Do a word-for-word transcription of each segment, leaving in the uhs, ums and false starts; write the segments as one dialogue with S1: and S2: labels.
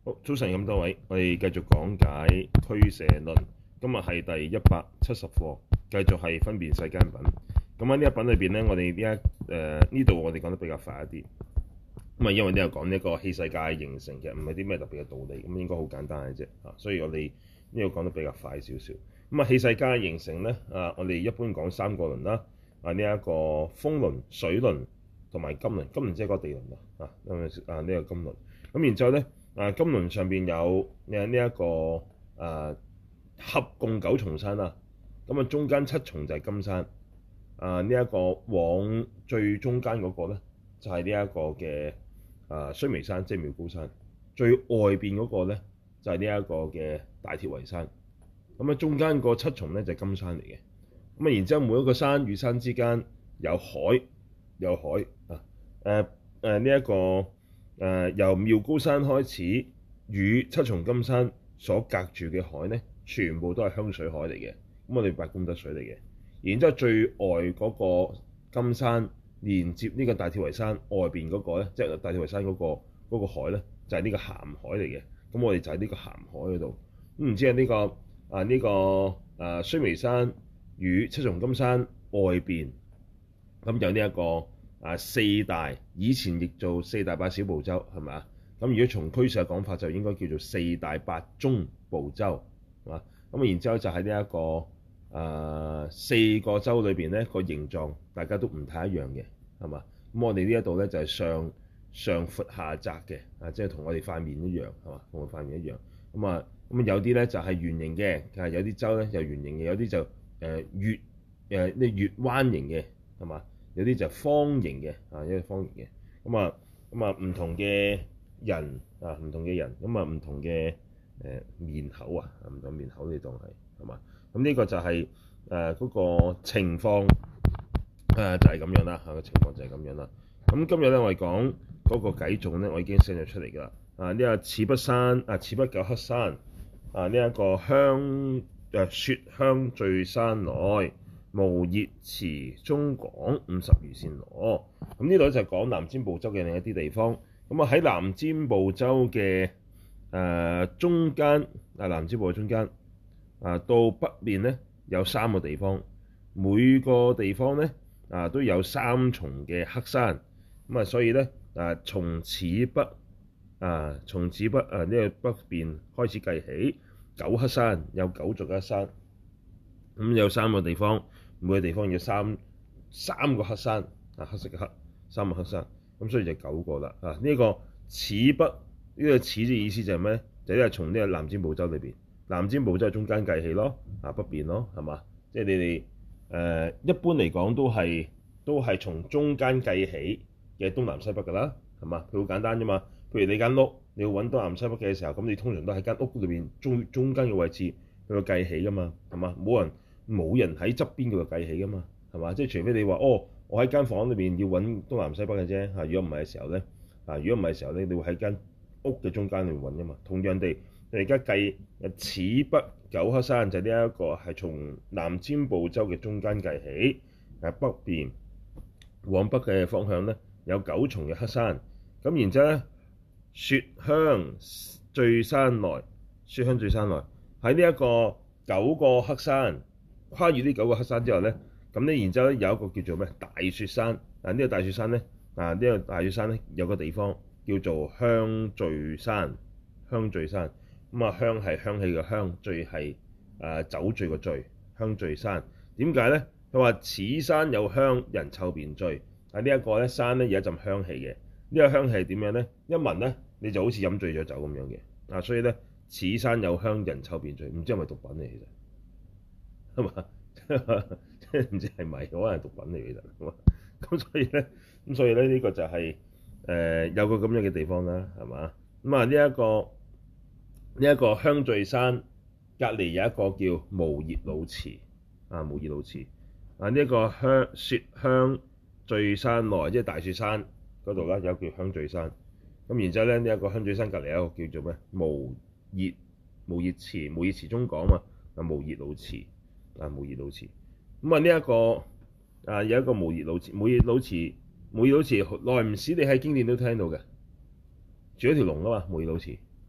S1: 好，早晨咁多位，我哋繼續講解俱舍論。今日係第一百七十課，繼續係分別世間品。咁喺呢一品裏邊咧，我哋呢一誒呢度我哋講得比較快一啲。咁啊，因為呢度講呢個器世界形成嘅，唔係啲咩特別嘅道理，咁應該好簡單嘅啫。啊，所以我哋呢度講得比較快少少。咁啊，器世界形成咧，啊，我哋一般講三個輪啦。啊，呢、這、一個風輪、水輪同埋金輪。金輪即係個地輪啊。啊，啊呢、這個金輪。咁然之後咧。啊，金輪上邊有誒呢一個啊合共九重山啦，咁啊中間七重就係金山，啊呢一個往最中間嗰個咧就係呢一個嘅啊須彌山，即係妙高山，最外邊嗰個咧就係呢一個嘅大鐵圍山，咁啊中間個七重咧就係金山嚟嘅，咁啊然之後每一個山與山之間有海，有海啊誒誒呢一個。誒、呃、由妙高山開始，與七重金山所隔住嘅海咧，全部都係香水海嚟嘅。咁我哋八功德水嚟嘅。然之後最外嗰個金山連接呢個大鐵圍山外邊嗰個咧，即係大鐵圍山嗰、嗰個嗰個海咧，就係、是、呢個鹹海嚟嘅。咁我哋就喺呢個鹹海嗰度。咁唔知係呢、呢個啊呢、呢個啊須彌山與七重金山外邊，咁有呢、呢、一個。啊，四大以前譯做四大八小部洲，係咪啊？咁如果從俱舍講法，就應該叫做四大八中部洲，係嘛？咁然之後就喺呢一個誒、呃、四個洲裏邊咧，個形狀大家都唔太一樣嘅，係嘛？咁我哋呢一度咧就係上上闊下窄嘅，啊，即係同我哋塊面一樣，係嘛？同我塊面一樣。咁啊，咁有啲咧就係圓形嘅，係有啲洲咧就圓形嘅，有啲就誒月誒呢月彎形嘅，係嘛？有啲就方形嘅，啊，有啲方形嘅，咁啊，咁啊，唔同嘅人啊，唔同嘅人，咁啊，唔同嘅誒面口啊，唔同面口你當係係嘛？咁呢個就係誒嗰個情況，誒、呃、就係、是、咁樣啦，嚇、啊、個情況就係咁樣啦。咁今日咧我哋講嗰個偈頌咧，我已經寫咗出嚟㗎啦。啊，呢、這個此不山啊，此不九黑山啊，呢、這、一個香誒、啊、雪香聚山內。無熱池中廣五十踰繕那，咁呢度就係講南贍部洲嘅另一啲地方。咁啊喺南贍部洲嘅誒、呃、中間啊，南贍部嘅中間啊，到北面咧有三個地方，每個地方咧啊都有三重嘅黑山。咁啊，所以咧啊，從此北啊，從此北啊呢、這個北邊開始計起，九黑山有九座黑山，咁有三個地方。每個地方有三三個黑山啊，黑色嘅黑，三個黑山，咁所以就九個啦啊！呢、這個此北呢、這個此嘅意思就係咩？就係從呢個南贍部洲裏邊，南贍部洲中間計起咯，啊北邊咯，係嘛？即係你哋誒、呃、一般嚟講都係都係從中間計起嘅東南西北㗎啦，係嘛？佢好簡單啫嘛。譬如你間屋你要揾東南西北嘅時候，咁你通常都喺間屋裏邊中中間嘅位置去個計起㗎嘛，係嘛？冇人。冇人喺側邊嗰度計起噶嘛，係嘛？即係除非你話哦，我喺間房裏邊要揾東南西北嘅啫嚇。如果唔係嘅時候咧，啊，如果唔係嘅時候咧，你會喺間屋嘅中間去揾噶嘛。同樣地，你而家計此北九黑山就呢一個係從南贍部洲嘅中間計起，誒北邊往北嘅方向咧有九重嘅黑山。咁然之後咧，雪香聚山內，雪香聚山內喺呢一個九個黑山。跨越呢九個黑山之後咧，咁咧然之後咧有一個叫做咩大雪山。嗱、這、呢個大雪山咧，嗱、這、呢個大雪山咧有個地方叫做香聚山。香聚山咁啊，香係香氣嘅香，聚係誒酒醉嘅醉。香聚山點解咧？佢話此山有香，人臭便醉。喺呢一個咧山咧有一陣香氣嘅。呢、這個香氣係點樣咧？一聞咧你就好似飲醉咗酒咁樣嘅。啊，所以咧此山有香，人臭便醉。唔知係咪毒品嚟其實？係嘛？即係唔知係咪可能係毒品嚟嘅啫。咁所以咧，咁所以咧呢個就係、是、誒、呃、有個咁樣嘅地方啦，係嘛？咁啊呢一個呢一個香聚山隔離有一個叫無熱魯池啊，無熱魯池啊，呢一個香雪香聚山內，即係大雪山嗰度啦，有一個叫香聚山。咁然之後咧呢一個香聚山隔離有一個叫做咩無熱無熱池，無熱池中廣嘛，啊無熱魯池。啊，無熱魯池咁啊！呢一個啊，有一個無熱魯池，無熱魯池，無熱魯池耐唔時你喺經典都聽到嘅，住一條龍啊嘛，無熱魯池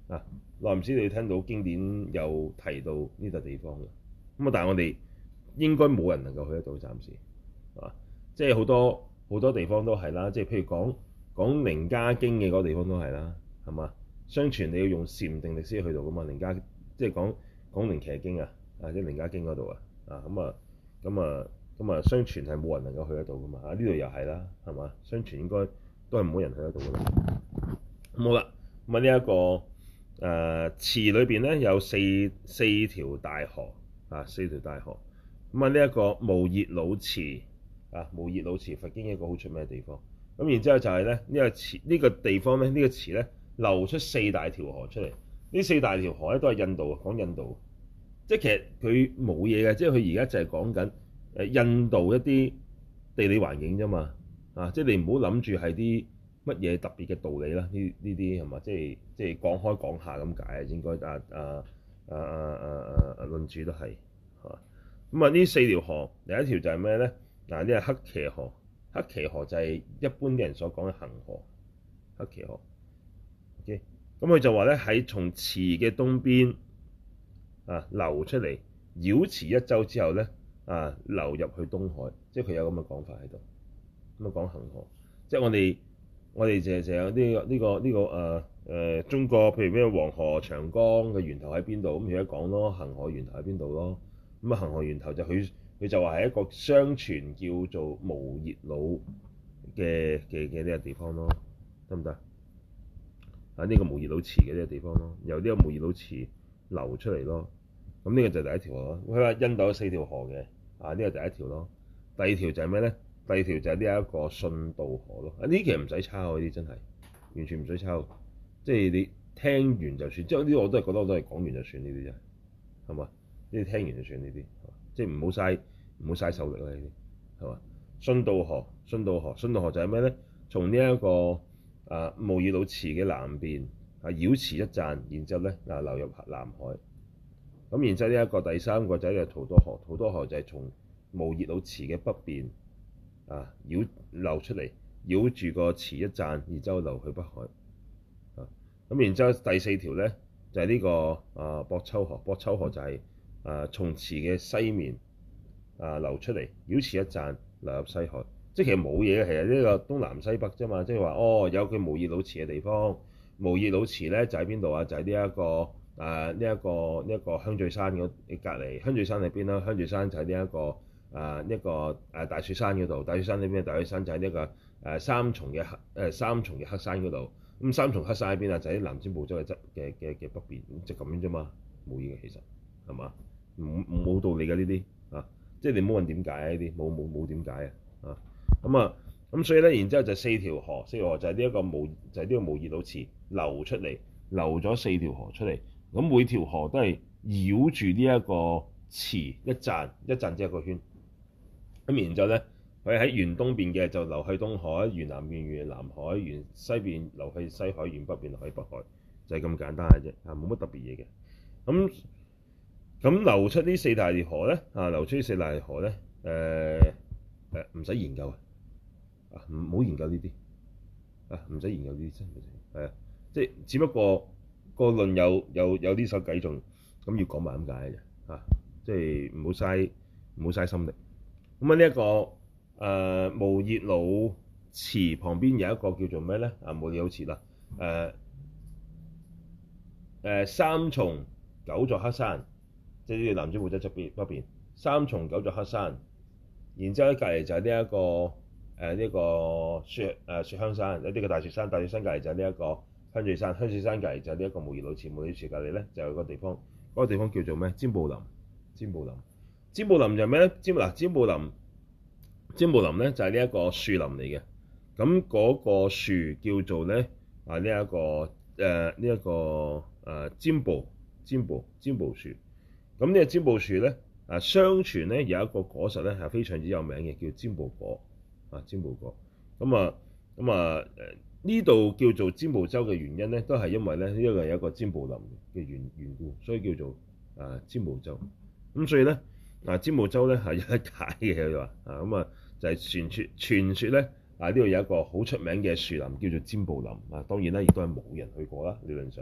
S1: 啊，耐唔時你聽到經典有提到呢笪地方嘅，咁啊，但係我哋應該冇人能夠去得到，暫時啊，即係好多好多地方都係啦，即係譬如講講楞伽經嘅嗰個地方都係啦，係嘛？相傳你要用禪定力先去到噶嘛，楞伽即係講講楞伽經啊，啊即係楞伽經嗰度啊，啊咁啊咁啊咁啊，相傳係冇人能夠去得到噶嘛，啊呢度又係啦，係嘛？相傳應該都係冇人去得到噶啦。咁好啦，咁啊呢一個誒池裏邊咧有四四條大河啊，四條大河。咁啊呢一個無熱惱池啊，無熱惱池佛經一個好出名嘅地方。咁然之後就係咧呢個池呢、呢個地方咧呢、呢個池咧流出四大條河出嚟。呢四大條河咧都係印度，講印度，即係其實佢冇嘢嘅，即係佢而家就係講緊誒印度一啲地理環境啫嘛。啊，即係你唔好諗住係啲乜嘢特別嘅道理啦，呢呢啲係嘛？即係即係講開講下咁解啊，應該啊啊啊啊啊啊論主都係嚇。咁啊呢四條河，第一條就係咩咧？嗱，呢係黑騎河，黑騎河就係一般啲人所講嘅恒河，黑騎河。OK，咁佢就話咧喺從池嘅東邊啊流出嚟，繞池一周之後咧啊流入去東海，即係佢有咁嘅講法喺度。咁啊講恒河，即係我哋我哋就就有呢個呢個呢個誒誒中國，譬如咩黃河、長江嘅源頭喺邊度？咁而家講咯，恒河源頭喺邊度咯？咁啊恒河源頭就佢佢就話係一個相傳叫做無熱惱嘅嘅嘅呢個地方咯，得唔得？啊呢個無熱惱池嘅呢個地方咯，由呢個無熱惱池流出嚟咯。咁呢個就係第一條咯。佢話印度有四條河嘅，啊呢個第一條咯。第二條就係咩咧？第二條就係呢一個信道河咯。啊呢啲其實唔使抄，呢啲真係完全唔使抄，即係你聽完就算。即係呢啲我都係覺得我都係講完就算，呢啲真係係嘛？呢啲聽完就算，呢啲即係唔好嘥唔好嘥手力啦，呢啲係嘛？信道河，信道河，信道河就係咩咧？從呢一個啊無熱惱池嘅南邊啊繞池一贊，然之後咧啊流入南海。咁然之後呢一個第三個就係土多河，土多河就係從無熱惱池嘅北邊啊繞流出嚟，繞住個池一贊，然之後流去北海。啊咁然之後第四條咧就係、是、呢、這個啊博秋河，博秋河就係、是、啊從池嘅西面啊流出嚟，繞池一贊，流入西海。即係其實冇嘢嘅，其實呢個東南西北啫嘛。即係話哦，有佢無熱惱池嘅地方，無熱惱池咧就喺邊度啊？就喺呢一個啊呢一個呢一個香聚山嗰隔離。香聚山喺邊啦？香聚山就喺呢一個啊一個誒大雪山嗰度。大雪山喺邊？大雪山就喺呢個誒三重嘅黑誒三重嘅黑山嗰度。咁三重黑山喺邊啊？就喺南贍部洲嘅側嘅嘅嘅北邊，就咁樣啫嘛。冇嘢嘅其實係嘛？冇冇道理嘅呢啲啊！即係你唔好問點解啊？呢啲冇冇冇點解啊？啊咁啊咁所以咧，然之後就四條河，四條河就係呢一個無就係、是、呢個無熱惱池流出嚟，流咗四條河出嚟。咁每條河都係繞住呢一個池一贊，一贊即係一個圈。咁然之後咧，佢喺沿東邊嘅就流去東海，沿南邊沿南海，沿西邊流去西海，沿北邊流去北海，就係、是、咁簡單嘅啫，啊冇乜特別嘢嘅。咁咁流出呢四大條河咧，啊流出呢四大條河咧，誒誒唔使研究啊，啊唔好研究呢啲，啊唔使研究呢啲真係，係啊，即係只不過個論有有有呢首偈仲咁要講埋咁解嘅啫，啊即係唔好嘥唔好嘥心力。咁啊呢一個誒、呃、無熱惱池旁邊有一個叫做咩咧？啊無熱惱池啦，誒、呃、誒、呃、三重九座黑山。即係呢個南贍部洲側邊北邊三重九座黑山，然之後喺隔離就係呢一個誒呢、呃這個雪誒、呃、雪香山，有啲個大雪山，大雪山隔離就係呢一個香聚山，香聚山隔離就係呢一個無熱惱池，無熱惱池隔離咧就有個地方，嗰、那個地方叫做咩？贍部林，贍部林，贍部林就係咩咧？贍嗱贍部林，贍部林咧就係呢一個樹林嚟嘅，咁嗰個樹叫做咧啊呢一個誒呢一個誒贍部贍部贍部樹。咁呢個贍部樹咧，啊相傳咧有一個果實咧係非常之有名嘅，叫贍部果啊贍部果。咁啊咁啊誒呢度叫做贍部洲嘅原因咧，都係因為咧呢個有一個贍部林嘅緣緣故，所以叫做啊贍部洲。咁所以咧啊贍部洲咧係有得解嘅，佢話啊咁啊就係傳説傳説咧啊呢度有一個好出名嘅樹林叫做贍部林啊，當然啦亦都係冇人去過啦理論上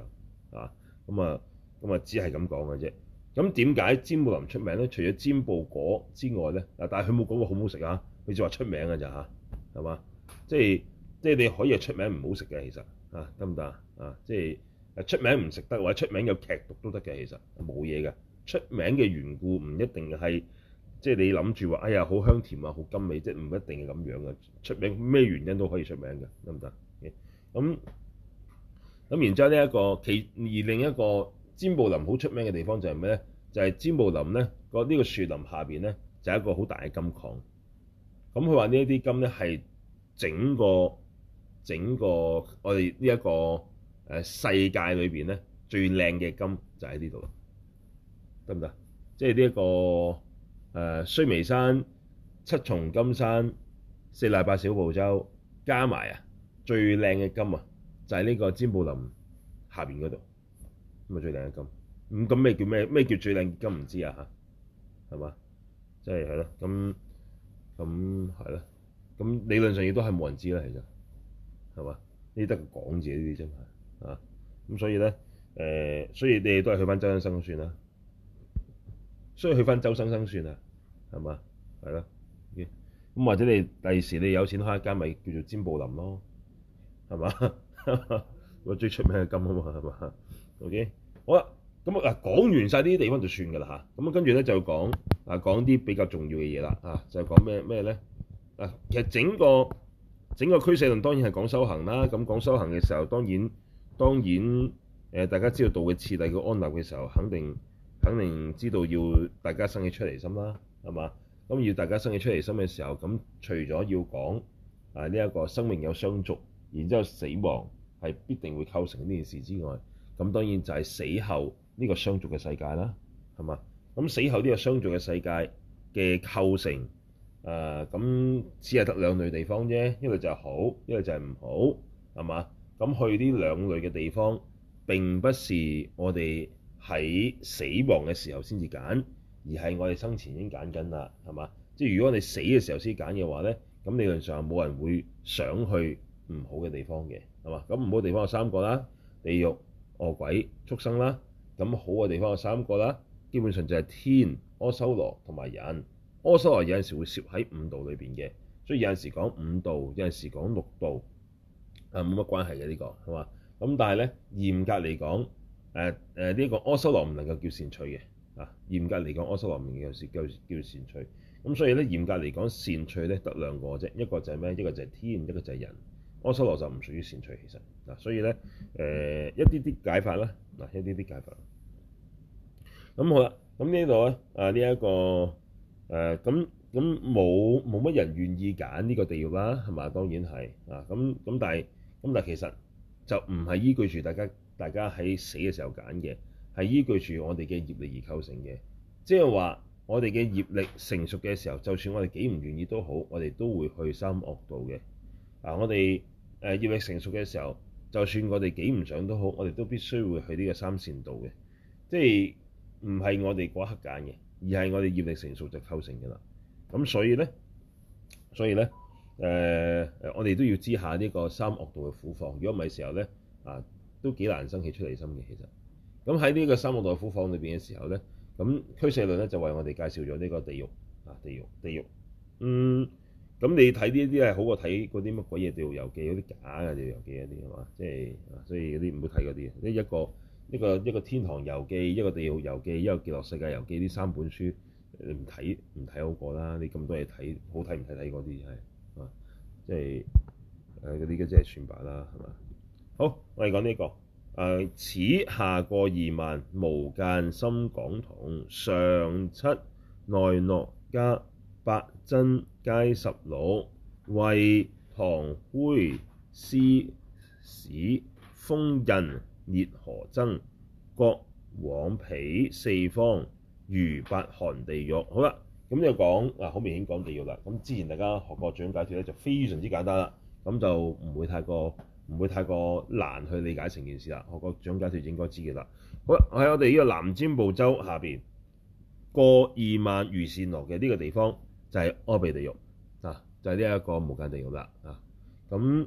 S1: 啊，咁啊咁啊只係咁講嘅啫。咁點解尖布林出名咧？除咗尖布果之外咧，嗱，但係佢冇講過好唔好食啊，佢就話出名嘅咋嚇，係嘛？即係即係你可以係出名唔好食嘅，其實啊，得唔得啊？啊，即係誒出名唔食得，或者出名有劇毒都得嘅，其實冇嘢嘅。出名嘅緣故唔一定係即係你諗住話，哎呀好香甜啊，好甘美，即係唔一定係咁樣嘅。出名咩原因都可以出名嘅，得唔得？咁咁然之後呢一個其而另一個尖布林好出名嘅地方就係咩咧？就係、是、尖布林咧個呢個樹林下邊咧就係一個好大嘅金礦。咁佢話呢一啲金咧係整個整個我哋呢一個誒世界裏邊咧最靚嘅金就喺呢度啦，得唔得？即係呢一個誒、呃、須彌山、七重金山、四乃八小部洲加埋啊，最靚嘅金啊，就係呢個尖布林下邊嗰度咁啊，最靚嘅金。咁咁咩叫咩咩叫最靚嘅金唔知啊嚇，係嘛？即係係咯，咁咁係咯，咁理論上亦都係冇人知啦，其實係嘛？呢啲得個講字呢啲真係啊，咁所以咧誒、呃，所以你哋都係去翻周生生算啦，所以去翻周生生算啊，係嘛？係咯，咁或者你第時你有錢開一間咪叫做尖布林咯，係嘛？我最出名嘅金啊嘛，係嘛 ？OK， 好啦，咁啊講完晒呢啲地方就算㗎啦嚇，咁啊跟住咧就講啊講啲比較重要嘅嘢啦啊，就係講咩咩咧啊，其實整個整個俱舍論當然係講修行啦，咁講修行嘅時候當然當然誒、呃、大家知道道嘅次第嘅安立嘅時候，肯定肯定知道要大家生起出離心啦，係嘛？咁要大家生起出離心嘅時候，咁除咗要講啊呢一個生命有相續，然之後死亡係必定會構成呢件事之外，咁當然就係死後呢個相續嘅世界啦，係嘛？咁死後呢個相續嘅世界嘅構成，誒咁只係得兩類地方啫，一類就係好，一類就係唔好，係嘛？咁去呢兩類嘅地方並不是我哋喺死亡嘅時候先至揀，而係我哋生前已經揀緊啦，係嘛？即係如果你死嘅時候先揀嘅話咧，咁理論上冇人會想去唔好嘅地方嘅，係嘛？咁唔好嘅地方有三個啦，地獄、餓鬼、畜生啦。咁好嘅地方有三個啦，基本上就係天、阿修羅同埋人。阿修羅有陣時會攝喺五道裏邊嘅，所以有陣時講五道，有陣時講六道，啊冇乜關係嘅呢個係嘛？咁但係咧嚴格嚟講，誒誒呢個阿修羅唔能夠叫善趣嘅，啊嚴格嚟講阿修羅唔能夠叫叫善趣。咁所以咧嚴格嚟講善趣咧得兩個啫，一個就係咩？一個就係天，一個就係人。阿修羅就唔屬於善趣其實嗱，所以咧誒、呃、一啲啲解法啦，嗱一啲啲解法。咁好啦，咁呢度咧啊呢一個誒咁咁冇冇乜人願意揀呢個地獄啦，係嘛？當然係啊，咁咁但係咁但係其實就唔係依據住大家大家喺死嘅時候揀嘅，係依據住我哋嘅業力而構成嘅。即係話我哋嘅業力成熟嘅時候，就算我哋幾唔願意都好，我哋都會去三惡道嘅。啊，我哋誒業力成熟嘅時候，就算我哋幾唔想都好，我哋都必須會去呢個三善道嘅，即係。唔係我哋嗰刻揀嘅，而係我哋業力成熟就構成嘅啦。咁所以咧，所以咧，誒、呃、誒，我哋都要知下呢個三惡道嘅苦況。如果唔係時候咧，啊，都幾難生起出離心嘅。其實，咁喺呢個三惡道嘅苦況裏邊嘅時候咧，咁俱舍論咧就為我哋介紹咗呢個地獄啊，地獄，地獄。嗯，咁你睇呢啲係好過睇嗰啲乜鬼嘢地獄遊記嗰啲假嘅地獄遊記嗰啲係嘛？即係，所以嗰啲唔好睇嗰啲。呢一個。一個一個天堂遊記，一個地獄遊記，一個極樂世界遊記，呢三本書你唔睇唔睇好過啦？你咁多嘢睇，好睇唔睇睇嗰啲係啊，即係誒嗰啲嘅即係算罷啦，係嘛？好，我哋講呢、這個誒、呃，此下過二萬無間心廣同上七內諾迦八真皆十六為唐灰施使封印烈河僧各往彼四方如八寒地獄。好啦，咁就講嗱，好明顯講地獄啦。咁之前大家學過最終解脫咧，就非常之簡單啦。咁就唔會太過唔會太過難去理解成件事啦。學過最終解脫應該知嘅啦。好啦，喺我哋呢個南贍部洲下邊過二萬踰繕那嘅呢個地方就係阿鼻地獄啊，就係呢一個無間地獄啦啊。咁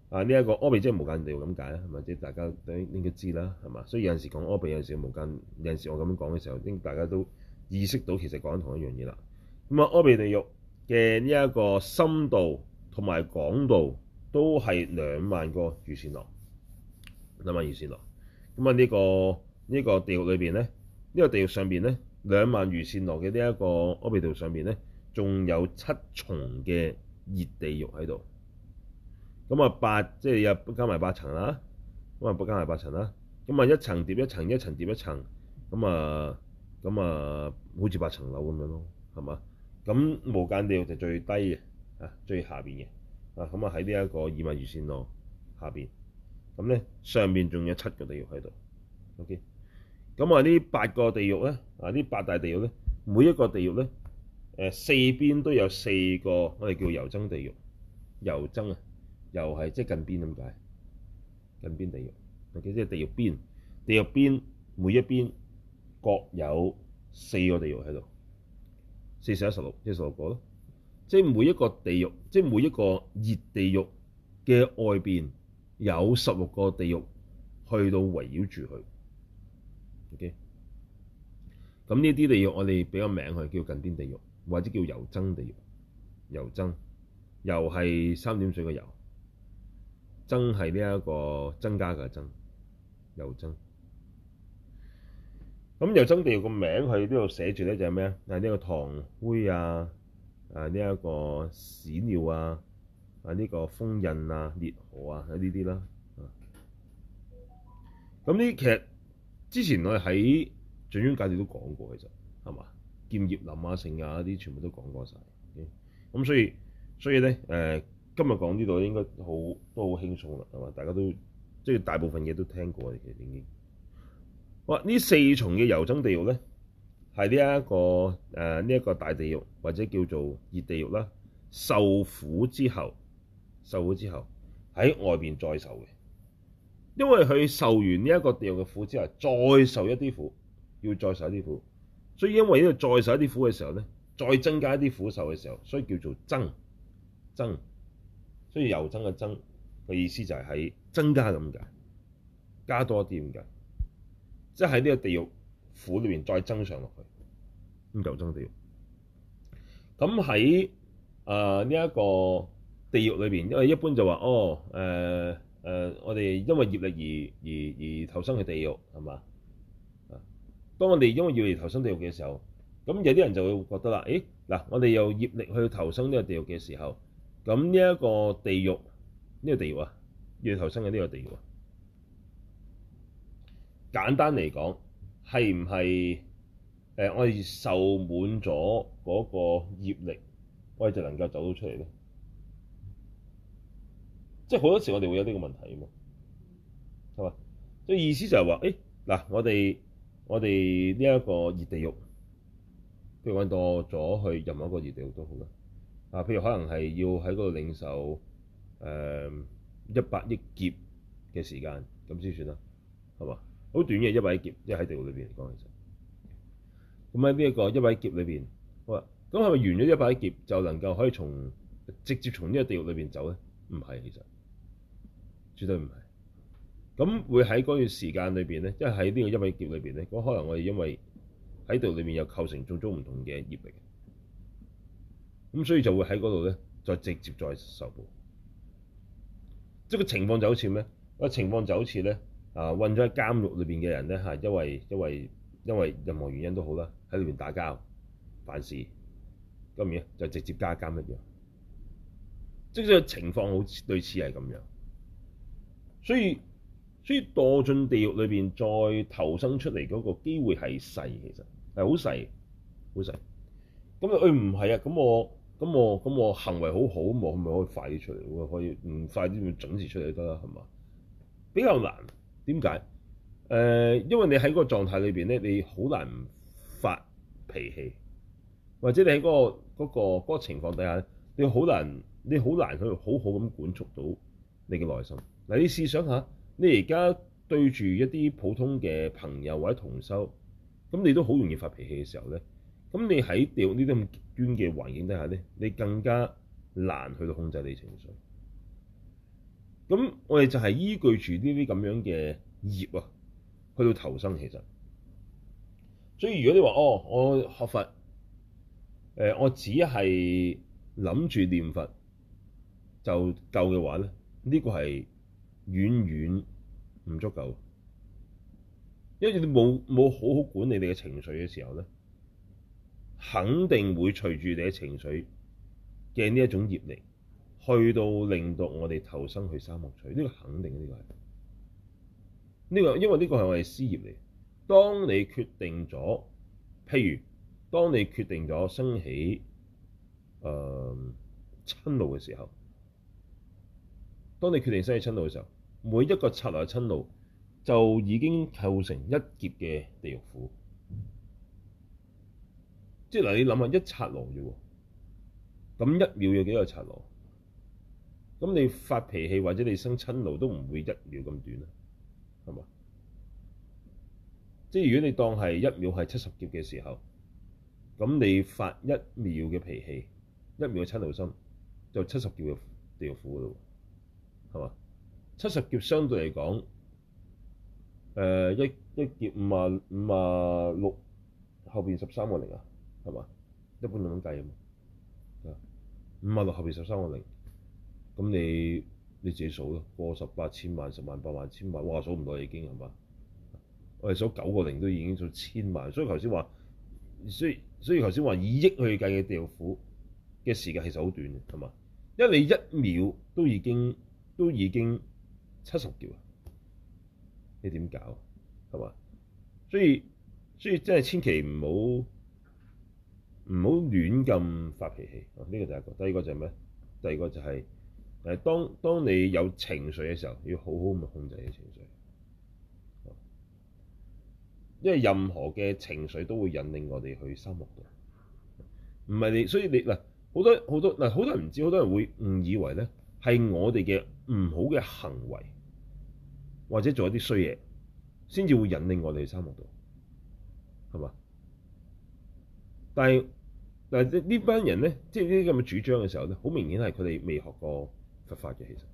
S1: 啊呢一個阿鼻即係無間地獄咁解啦，係咪？即係大家都應該知啦，係嘛？所以有陣時講阿鼻，有陣時無間，有陣時我咁樣講嘅時候，應大家都意識到其實講緊同一樣嘢啦。咁啊，阿鼻地獄嘅呢一個深度同埋廣度都係兩萬個踰繕那，兩萬踰繕那。咁啊，呢個呢個地獄裏邊咧，呢個地獄上邊咧，兩萬踰繕那嘅呢一個阿鼻地獄上邊咧，仲有七重嘅熱地獄喺度。咁啊，八即係又加埋八層啦，咁啊，加埋八層啦。咁啊，一層疊一層，一層疊一層，咁啊，咁啊，好似八層樓咁樣咯，係嘛？咁無間地獄就最低嘅，啊，最下邊嘅，啊，咁啊喺呢一個二萬踰繕那下邊，咁咧上邊仲有七個地獄喺度。OK，咁啊呢八個地獄咧，啊呢八大地獄咧，每一個地獄咧，誒四邊都有四個我哋叫遊增地獄，遊增啊。又係即係近邊咁解，近邊地獄，OK，即係地獄邊，地獄邊每一邊各有四個地獄喺度，四四一十六，即係十六個咯。即係每一個地獄，即係每一個熱地獄嘅外邊有十六個地獄去到圍繞住佢。OK，咁呢啲地獄我哋俾個名佢叫近邊地獄，或者叫遊增地獄。遊增，遊係三點水嘅遊。增係呢一個增加嘅增，遊增。咁遊增地獄個名佢呢度寫住咧就係咩啊？係呢個糖灰啊，啊呢一個屎尿啊，啊呢個封印啊、烈河啊呢啲啦。咁呢其實之前我哋喺掌中解脫都講過，其實係嘛？劍葉林啊、剩啊啲全部都講過晒。咁所以所以咧誒。呃今日講呢度應該好都好輕鬆啦，係嘛？大家都即係大部分嘢都聽過，其實已經。哇！呢四重嘅遊增地獄咧，係呢一個誒呢一個大地獄或者叫做熱地獄啦。受苦之後，受苦之後喺外邊再受嘅，因為佢受完呢一個地獄嘅苦之後，再受一啲苦，要再受一啲苦，所以因為呢度再受一啲苦嘅時候咧，再增加一啲苦受嘅時候，所以叫做增增。所以遊增嘅增嘅意思就係喺增加咁解，加多啲咁解，即係喺呢個地獄苦裏邊再增上落去。咁遊增地獄，咁喺啊呢一個地獄裏邊，因為一般就話哦誒誒、呃呃，我哋因為業力而而而投生去地獄係嘛？啊，當我哋因為業力而投生地獄嘅時候，咁有啲人就會覺得啦，誒嗱，我哋有業力去投生呢個地獄嘅時候。咁呢一個地獄，呢、這個地獄啊，要投生嘅呢個地獄啊，簡單嚟講，係唔係誒我哋受滿咗嗰個業力，我哋就能夠走到出嚟咧？即係好多時我哋會有呢個問題啊嘛，係嘛？所以意思就係話，誒嗱，我哋我哋呢一個熱地獄，譬如揾到咗去任何一個熱地獄都好啦。啊，譬如可能係要喺嗰度領受誒一百億劫嘅時間，咁先算啦，係嘛？好短嘅一百億劫，即係喺地獄裏邊嚟講，其實咁喺呢一個一百億劫裏邊，好啦，咁係咪完咗一百億劫就能夠可以從直接從呢個地獄裏邊走咧？唔係，其實絕對唔係。咁會喺嗰段時間裏邊咧，即係喺呢個一百億劫裏邊咧，咁可能我哋因為喺度裏邊有構成種種唔同嘅業力。咁所以就會喺嗰度咧，再直接再受報。即係個情況就好似咩？個情況就好似咧，啊，困咗喺監獄裏邊嘅人咧，嚇，因為因為因為任何原因都好啦，喺裏邊打交、犯事，咁樣就直接加監一樣。即係個情況好類似係咁樣。所以所以墮進地獄裏邊再投生出嚟嗰個機會係細，其實係好細，好細。咁啊，誒唔係啊，咁我。咁我咁我行為好好，咁我咪可以快啲出嚟？我可以唔快啲咪準時出嚟得啦，係嘛？比較難，點解？誒、呃，因為你喺嗰個狀態裏邊咧，你好難唔發脾氣，或者你喺嗰、嗰個嗰、嗰個嗰個情況底下，你好難你好難去好好咁管束到你嘅內心。嗱，你試想下，你而家對住一啲普通嘅朋友或者同修，咁你都好容易發脾氣嘅時候咧。咁你喺地獄呢啲咁極端嘅環境底下咧，你更加難去到控制你情緒。 咁我哋就係依據住呢啲咁樣嘅業啊，去到投生其實。所以如果你話哦，我學佛，誒、呃，我只係諗住念佛就夠嘅話咧，呢、這個係遠遠唔足夠，因為你冇冇好好管理你嘅情緒嘅時候咧，肯定會隨住你嘅情緒嘅呢一種業力，去到令到我哋投生去三惡趣。呢、這個肯定，呢、這個係呢、這個，因為呢個係我哋師業嚟。當你決定咗，譬如當你決定咗生起誒瞋怒嘅時候，當你決定生起瞋怒嘅時候，每一個剎那嘅瞋怒就已經構成一劫嘅地獄苦。即係嗱，你諗下一剎那啫喎，咁一秒有幾個剎那？咁你發脾氣或者你生瞋怒都唔會一秒咁短啦，係嘛？即係如果你當係一秒係七十劫嘅時候，咁你發一秒嘅脾氣，一秒嘅瞋怒心，就七十劫嘅地獄苦咯，係嘛？七十劫相對嚟講，誒、呃、一一劫五啊五啊六，後邊十三個零啊，係嘛？一般咁樣計啊嘛，五啊六後邊十三個零，咁你你自己數咯，過十八千萬、十萬、百萬、千萬，哇數唔到已經係嘛？我哋數九個零都已經數千萬，所以頭先話，所以所以頭先話以億去計嘅地獄苦嘅時間其實好短嘅，係嘛？因為你一秒都已經都已經七十劫啊，你點搞係嘛？所以所以真係千祈唔好唔好亂咁發脾氣啊！呢個第一個，第二個就係咩？第二個就係誒，當當你有情緒嘅時候，要好好咁控制你情緒。因為任何嘅情緒都會引領我哋去三惡道，唔係你，所以你嗱好多好多嗱好多人唔知，好多人會誤以為咧係我哋嘅唔好嘅行為或者做一啲衰嘢，先至會引領我哋去三惡道，係嘛？但係嗱呢班人咧，即係呢啲咁嘅主張嘅時候咧，好明顯係佢哋未學過佛法嘅，其實，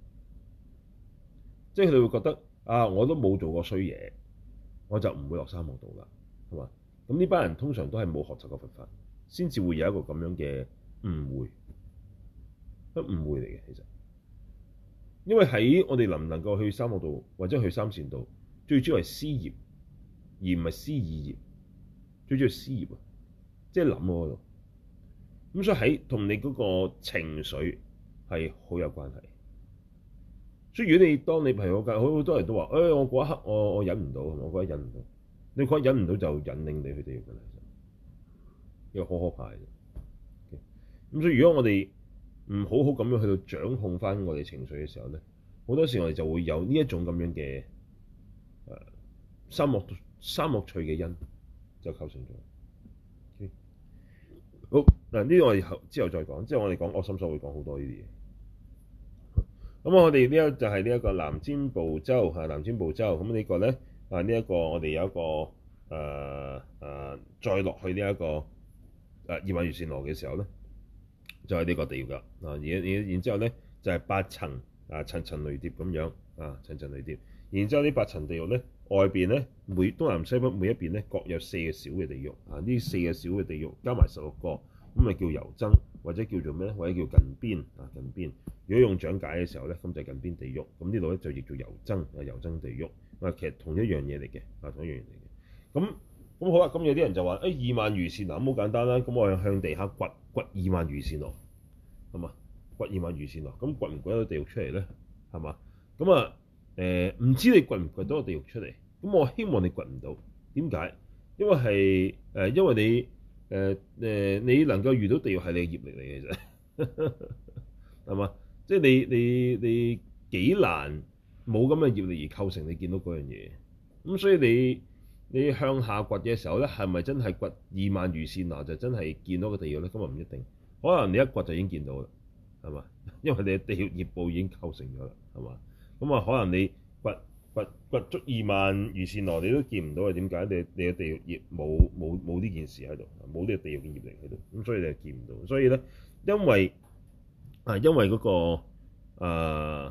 S1: 即係佢哋會覺得啊，我都冇做過衰嘢，我就唔會落三惡道啦，係嘛？咁呢班人通常都係冇學習過佛法，先至會有一個咁樣嘅誤會，都誤會嚟嘅其實。因為喺我哋能唔能夠去三惡道或者去三善道，最主要係思業，而唔係思意業。最主要係思業啊，即係諗嗰度。咁所以喺同你嗰個情緒係好有關係。所以如果你當你譬如我介好好多人都話，誒、哎、我嗰一刻我我忍唔到，我覺得忍唔到。你覺得忍唔到就引領你去地獄㗎啦，其實呢個好可怕嘅。咁所以如果我哋唔好好咁樣去到掌控翻我哋情緒嘅時候咧，好多時我哋就會有呢一種咁樣嘅誒三惡三惡趣嘅因就構成咗。Okay? 好嗱，呢個我哋後之後再講，之後我哋講惡心所會講好多呢啲嘢。咁我哋呢一就係呢一個南贍部洲嚇，南贍部洲咁呢個咧啊，呢一個我哋有一個誒誒、呃呃、再落去呢、這、一個誒二萬踰繕那嘅時候咧，就係、是、呢個地獄啦啊！然然然之後咧就係、是、八層啊，層層累疊咁樣啊，層層累疊。然之後呢八層地獄咧外邊咧每東南西北每一邊咧各有四個小嘅地獄啊，呢四個小嘅地獄加埋十六個，咁咪叫遊僧，或者叫做咩咧？或者叫近邊啊，近邊。如果用講解嘅時候咧，咁就係近邊地獄。咁呢度咧就譯做遊僧啊，遊僧地獄啊，其實同一樣嘢嚟嘅啊，同一樣嘢嚟嘅。咁咁好啦，咁有啲人就話：誒、哎、二萬踰繕那咁好簡單啦，咁我向地下掘掘二萬踰繕那，係嘛？掘二萬踰繕那，咁掘唔掘到地獄出嚟咧？係嘛？咁啊誒，唔知你掘唔掘到個地獄出嚟？咁我希望你掘唔到。點解？因為係誒、呃，因為你誒誒、呃，你能夠遇到地獄係你嘅業力嚟嘅啫，係嘛？即係你你你幾難冇咁嘅業力而構成你見到嗰樣嘢。咁所以你你向下掘嘅時候咧，係咪真係掘二萬踰繕那就真係見到個地獄咧？咁啊唔一定，可能你一掘就已經見到啦，係嘛？因為你嘅地獄業報已經構成咗啦，係嘛？咁啊可能你掘掘掘足二萬踰繕那你都見唔到，係點解？你你嘅地獄業冇冇冇呢件事喺度，冇呢個地獄嘅業力喺度，咁所以你就見唔到。所以咧，因為啊，因為嗰、那個啊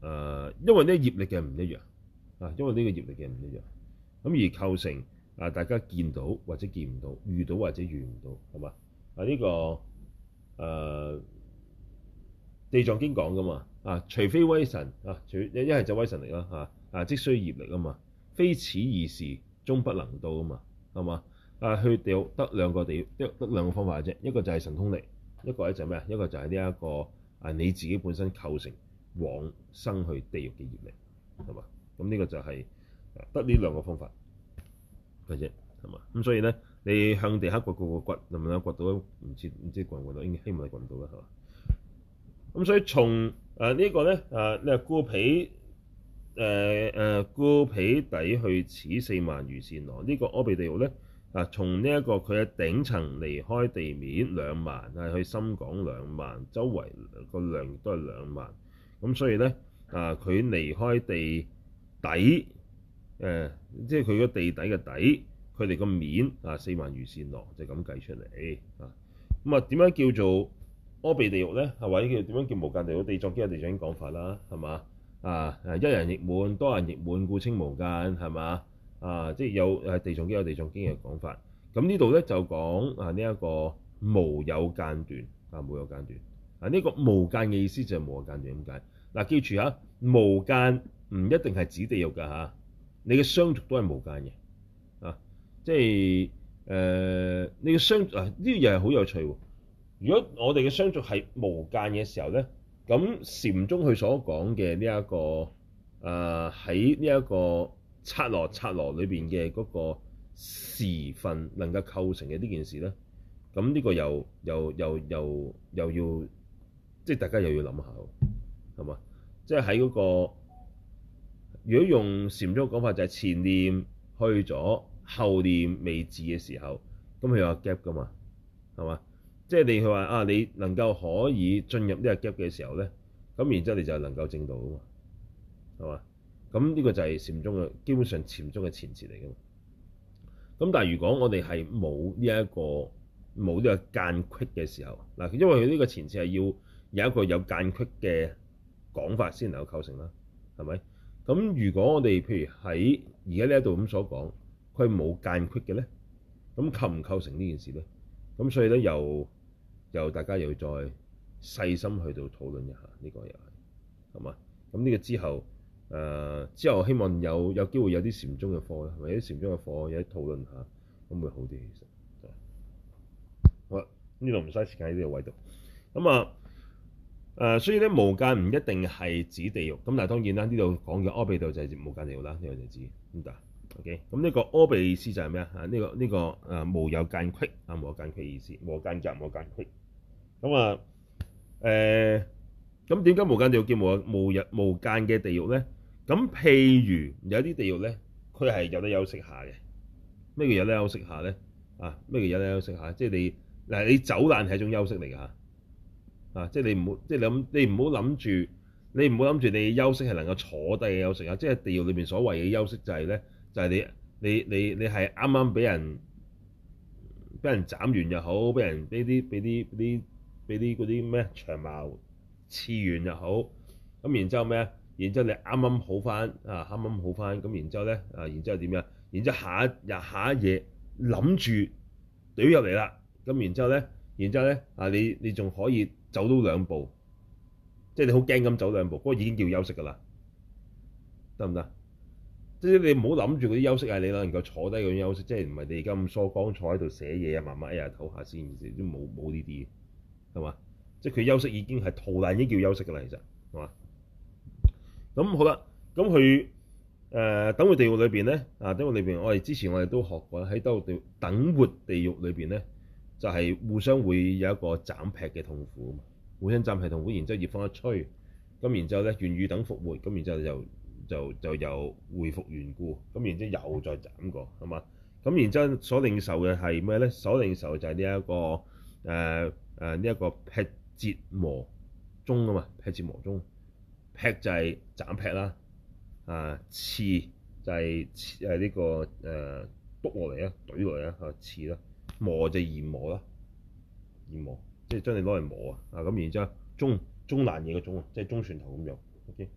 S1: 誒，因為呢業力嘅唔一樣啊，因為呢個業力嘅唔一樣，咁而構成啊大家見到或者見唔到，遇到或者遇唔到，係嘛？啊呢、這個誒、呃、地藏經講噶嘛啊，除非威神啊，除一一係就威神力啦嚇啊，即須業力啊嘛，非此二時終不能到啊嘛，係嘛？啊去地獄得兩個地獄，得得兩個方法嘅啫，一個就係神通力，一個咧就係咩啊？一個就係呢一個啊你自己本身構成往生去地獄嘅業力，係嘛？咁呢個就係得呢兩個方法嘅啫，係嘛？咁所以咧，你向地下掘個個掘，能唔能夠掘到？唔知唔知掘唔掘到？應該希望你掘唔到啦，係嘛？咁所以從誒、呃這個、呢個咧誒，你話故彼誒誒故彼底去此四萬餘善羅，呢、這個阿鼻地獄咧啊，從呢一個佢嘅頂層離開地面兩萬，係去深廣兩萬，周圍個量亦都係兩萬。咁所以咧啊，佢離開地底誒、呃，即係佢個地底嘅底，佢哋個面啊四萬餘善羅就咁計出嚟啊。咁啊點樣叫做阿鼻地獄咧？係或者叫點樣叫無間地獄？地藏經有地藏經講法啦，係嘛啊？誒一人亦滿，多人亦滿，故稱無間，係嘛啊？即係有誒地藏經有地藏經嘅講法。咁呢度咧就講啊呢一個無有間斷啊，無有間斷啊，呢個無間嘅意思就係無有間斷咁解。嗱、啊，記住嚇，無間唔一定係指地獄㗎嚇，你嘅相續都係無間嘅啊，即係誒、呃、你嘅相啊呢樣嘢係好有趣喎。如果我哋嘅相續係無間嘅時候咧，咁禪宗佢所講嘅呢一個誒喺呢一個剎那剎那裏邊嘅嗰個時分能夠構成嘅呢件事咧，咁呢個又又又又又要即係大家又要諗下喎，係嘛？即係喺嗰個如果用禪宗嘅講法就係前念去咗，後念未至嘅時候，咁佢有 gap 噶嘛，係嘛？即係你佢話啊，你能夠可以進入呢個 gap 嘅時候咧，咁然之後你就能夠證道啊嘛，係嘛？咁呢個就係禪宗嘅基本上禪宗嘅前設嚟㗎嘛。咁但係如果我哋係冇呢一個冇呢個間隙嘅時候，嗱，因為佢呢個前設係要有一個有間隙嘅講法先能夠構成啦，係咪？咁如果我哋譬如喺而家呢一度咁所講，佢冇間隙嘅咧，咁構唔構成呢件事咧？咁所以咧，又又大家又要再細心去到討論一下呢、這個又係係嘛？咁呢個之後誒、呃、之後希望有有機會有啲禪宗嘅課啦，或者禪宗嘅課有啲討論下，咁會好啲其實。好啦，呢度唔嘥時間喺呢個位度。咁啊誒，所以咧無間唔一定係指地獄，咁但係當然啦，呢度講嘅阿鼻地獄就係無間地獄啦，呢、這個就知咁得。OK，咁呢個阿鼻意思就係咩啊？啊、這個，呢個呢個誒無有間隙啊，無有間隙意思，無間隔無間隙。咁啊誒，咁點解無間地獄叫無無日無間嘅地獄咧？咁譬如有啲地獄咧，佢係有得休息下嘅。咩叫有得休息下咧？啊，咩叫有得休息下？即係你嗱，你走難係一種休息嚟㗎嚇。啊，即係你唔好，即係諗你唔好諗住，你唔好諗住你休息係能夠坐低嘅休息啊！即係地獄裏邊所謂嘅休息就係咧。就係你你你你係啱啱俾人俾人斬完又好，俾人俾啲俾啲啲俾啲嗰啲咩長矛刺完又好，咁然之後咩啊？然之後你啱啱好翻啊，啱啱好翻，咁然之後咧啊，然之後點樣？然之後下一日下一夜諗住懟入嚟啦，咁然之後咧，然之後咧啊，你你仲可以走到兩步，即係你好驚咁走兩步，嗰個已經叫休息㗎啦，得唔得？即係你唔好諗住嗰啲休息係你能夠坐低嗰種休息，即係唔係你而家咁疏光坐喺度寫嘢啊，慢慢一日唞下先，都冇冇呢啲嘅，係嘛？即係佢休息已經係逃難已經叫休息㗎啦，其實係嘛？咁好啦，咁佢誒等活地獄裏邊咧啊，等活裏邊我哋之前我哋都學過喺等活地等活地獄裏邊咧，就係、是、互相會有一個斬劈嘅痛苦啊嘛，互相斬劈痛苦，然之後熱風一吹，咁然之後咧願與等復活，咁然之後就。就就又回復原故，咁然之後又再斬過，係嘛？咁然之後所領受嘅係咩咧？所領受就係呢一個誒誒呢一個劈折磨鐘啊嘛，劈折磨鐘，劈就係斬劈啦，啊刺就係誒呢個誒篤落嚟啊，懟落嚟啊，啊刺啦，磨就研磨啦，研磨即係將你攞嚟磨啊，啊咁然之後中中難嘢嘅鐘啊，即係中船頭咁樣 ，OK。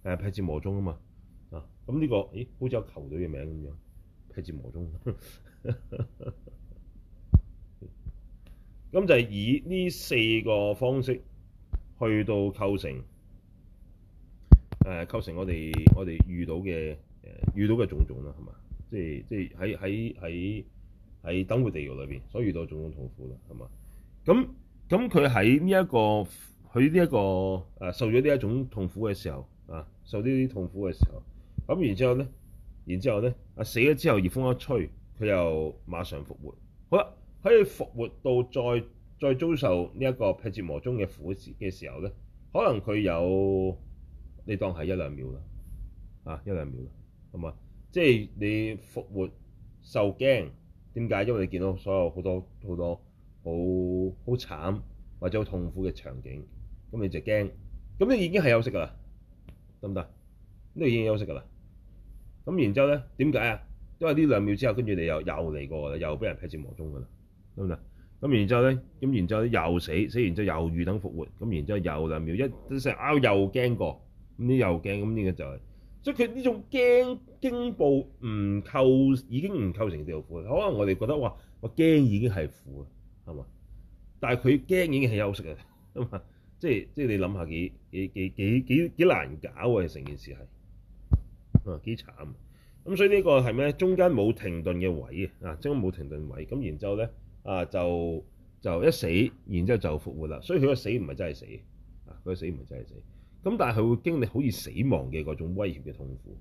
S1: 誒辟支魔宗啊嘛啊，咁呢個咦好似有球隊嘅名咁樣，辟支魔宗。咁就係以呢四個方式去到構成誒、呃、構成我哋我哋遇到嘅誒、呃、遇到嘅種種啦，係嘛？即係即係喺喺喺喺等活地獄裏邊所遇到種種痛苦啦，係嘛？咁咁佢喺呢一個佢呢一個誒、呃、受咗呢一種痛苦嘅時候啊，受呢啲痛苦嘅時候，咁然之後咧，然之後咧啊死咗之後，熱風一吹，佢又馬上復活。好啦。喺佢復活到再再遭受呢一個辟支魔宗嘅苦嘅時候咧，可能佢有你當係一兩秒啦，啊一兩秒啦，係嘛？即係你復活受驚，點解？因為你見到所有好多好多好好慘或者好痛苦嘅場景，咁你就驚，咁你已經係休息㗎啦，得唔得？呢個已經休息㗎啦。咁然之後咧，點解啊？因為呢兩秒之後，跟住你又又嚟過啦，又俾人辟支魔宗㗎啦。得唔得？咁然之後咧，咁然之後咧又死，死完之後又預等復活，咁然之後又兩秒，一成拗又驚過，咁呢又驚，咁呢個就係、是，所以佢呢種驚驚怖唔構已經唔構成地獄苦，可能我哋覺得哇，我驚已經係苦啦，係嘛？但係佢驚已經係休息啦，咁啊，即係即係你諗下幾幾幾幾幾幾難搞啊！成件事係啊幾慘，咁所以呢個係咩？中間冇停頓嘅位啊，中間冇停頓位，咁然之後咧。啊，就就一死，然之後就復活啦。所以佢個死唔係真係死，啊，佢個死唔係真係死。咁但係佢會經歷好似死亡嘅嗰種威脅嘅痛苦，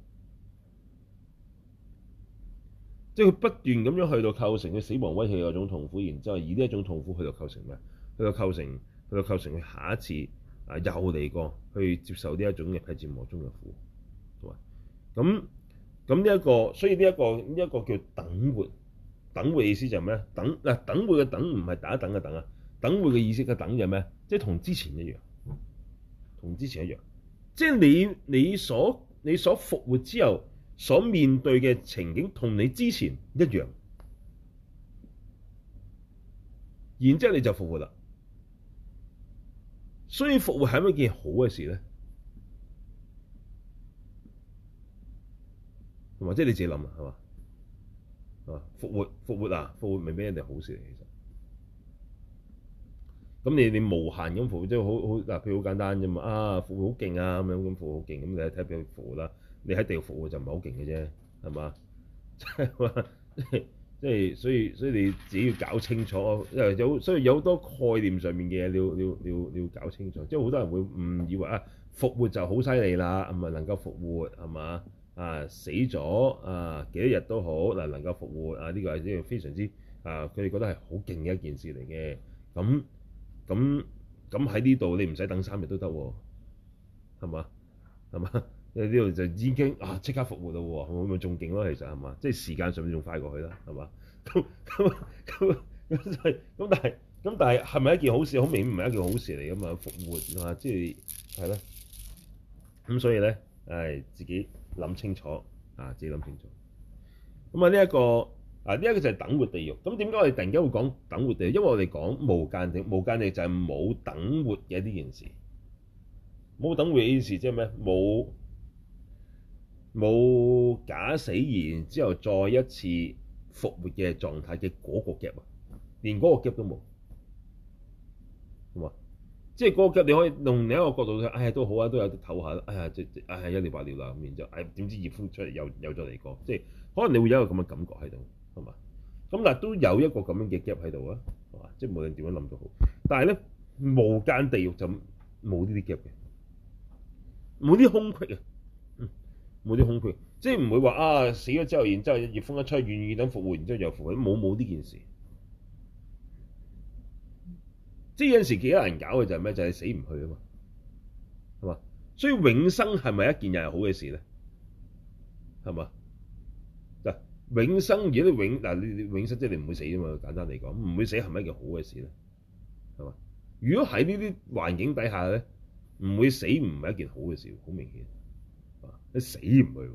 S1: 即係佢不斷咁樣去到構成佢死亡威脅嘅嗰種痛苦，然之後以呢一種痛苦去到構成咩？去到構成，去到構成佢下一次啊又嚟過去接受呢一種嘅辟支魔宗嘅苦，係嘛？咁咁呢一個，所以呢、這、一個呢一、這個叫等活。等活嘅意思就係咩？等嗱，等活嘅等唔係打等嘅等啊，等活嘅意思嘅等就係咩？即係同之前一樣，同之前一樣，即係你你所你所復活之後所面對嘅情景同你之前一樣，然之後你就復活啦。所以復活係咪一件好嘅事咧？同埋即係你自己諗啊，係嘛？啊！復活復活啊！復活咪俾人哋好事嚟，其實咁你你無限咁復活，即係好好嗱，譬如好簡單啫嘛。啊，復活好勁啊，咁樣咁復活好勁，咁你睇下邊個復活啦？你喺地獄復活就唔係好勁嘅啫，係嘛？即係話即係即係，所以所以你自己要搞清楚，因為有所以有好多概念上面嘅嘢，你要你要你要你要搞清楚。即係好多人會誤以為啊，復活就好犀利啦，唔係能夠復活係嘛？啊死咗啊幾多日都好嗱，能夠復活啊，呢個係呢個非常之啊，佢哋覺得係好勁嘅一件事嚟嘅。咁咁咁喺呢度你唔使等三日都得喎，係嘛？係嘛？因為呢度就已經啊即刻復活啦喎，會唔會仲勁咯？其實係嘛？即係時間上面仲快過去啦，係嘛？咁咁咁咁就係咁，但係咁但係係咪一件好事？好明顯唔係一件好事嚟㗎嘛，復活啊，即係係咯。咁所以咧，誒自己諗清楚啊！自己諗清楚。咁啊，呢一個啊，呢一個就係等活地獄。咁點解我哋突然間會講等活地獄？因為我哋講無間地，無間地就係冇等活嘅呢件事。冇等活嘅呢件事即係咩？冇冇假死然之後再一次復活嘅狀態嘅嗰個 gap 啊，連嗰個 gap 都冇，係嘛？即係嗰個 gap 你可以用另一個角度睇，哎呀都好啊，都有得唞下啦。哎呀，即係哎呀一了百了啦咁，然之後哎點知熱風出嚟又又再嚟過，即係可能你會有一個咁嘅感覺喺度，係嘛？咁但係都有一個咁樣嘅 gap 喺度啊，係嘛？即係無論點樣諗都好，但係咧無間地獄就冇呢啲 gap 嘅，冇啲空隙啊，嗯，冇啲空隙，即係唔會話啊死咗之後，然之後熱風一吹，願意等復活，然之後又復活，冇冇呢件事。即係有陣時幾難搞嘅就係咩？就係、是、死唔去啊嘛，係嘛？所以永生係咪一件又係好嘅事咧？係嘛？嗱，永生如果你永嗱你永生即係你唔會死啊嘛，簡單嚟講，唔會死係咪一件好嘅事咧？係嘛？如果喺呢啲環境底下咧，唔會死唔係一件好嘅事，好明顯啊！你死唔去，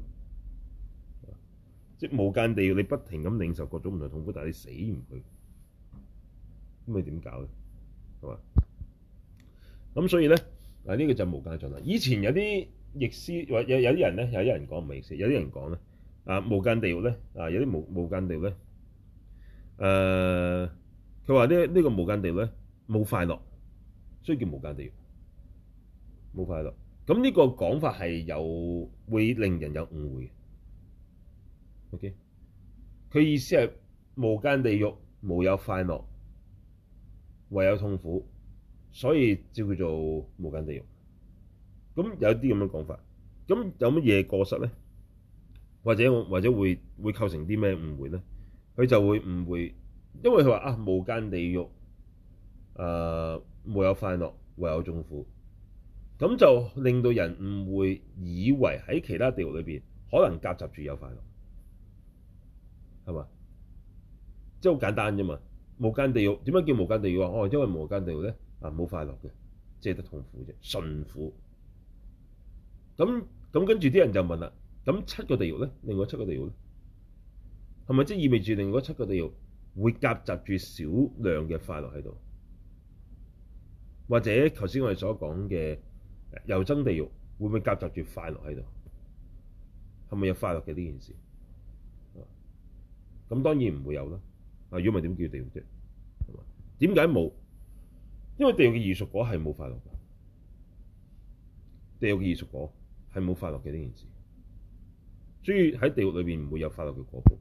S1: 即係無間地獄，你不停咁領受各種唔同痛苦，但係你死唔去，咁你點搞咧？係嘛？咁所以咧，嗱、這、呢個就係無間狀態。以前有啲譯師或有有啲人咧，有啲人講唔係譯師，有啲人講咧啊無間地獄咧啊有啲無無間地獄咧誒，佢話呢呢個無間地獄咧冇快樂，所以叫無間地獄，冇快樂。咁呢個講法係有會令人有誤會嘅。OK，佢意思係無間地獄無有快樂，唯有痛苦，所以叫佢做無間地獄。咁有啲咁嘅講法，咁有乜嘢過失咧？或者或者會會構成啲咩誤會咧？佢就會誤會，因為佢話啊無間地獄誒、呃、無有快樂，唯有痛苦，咁就令到人誤會，以為喺其他地獄裏邊可能夾雜住有快樂，係嘛？即係好簡單啫嘛。無間地獄點解叫無間地獄啊？哦，因為無間地獄咧啊冇快樂嘅，即係得痛苦啫，純苦。咁咁跟住啲人就問啦，咁七個地獄咧，另外七個地獄咧，係咪即係意味住另外七個地獄會夾雜住少量嘅快樂喺度？或者頭先我哋所講嘅油憎地獄會唔會夾雜住快樂喺度？係咪有快樂嘅呢件事？咁當然唔會有啦。啊，如果唔係點叫地獄啫？係嘛？點解冇？因為地獄嘅異熟果係冇快樂嘅，地獄嘅異熟果係冇快樂嘅呢件事，所以喺地獄裏邊唔會有快樂嘅果報。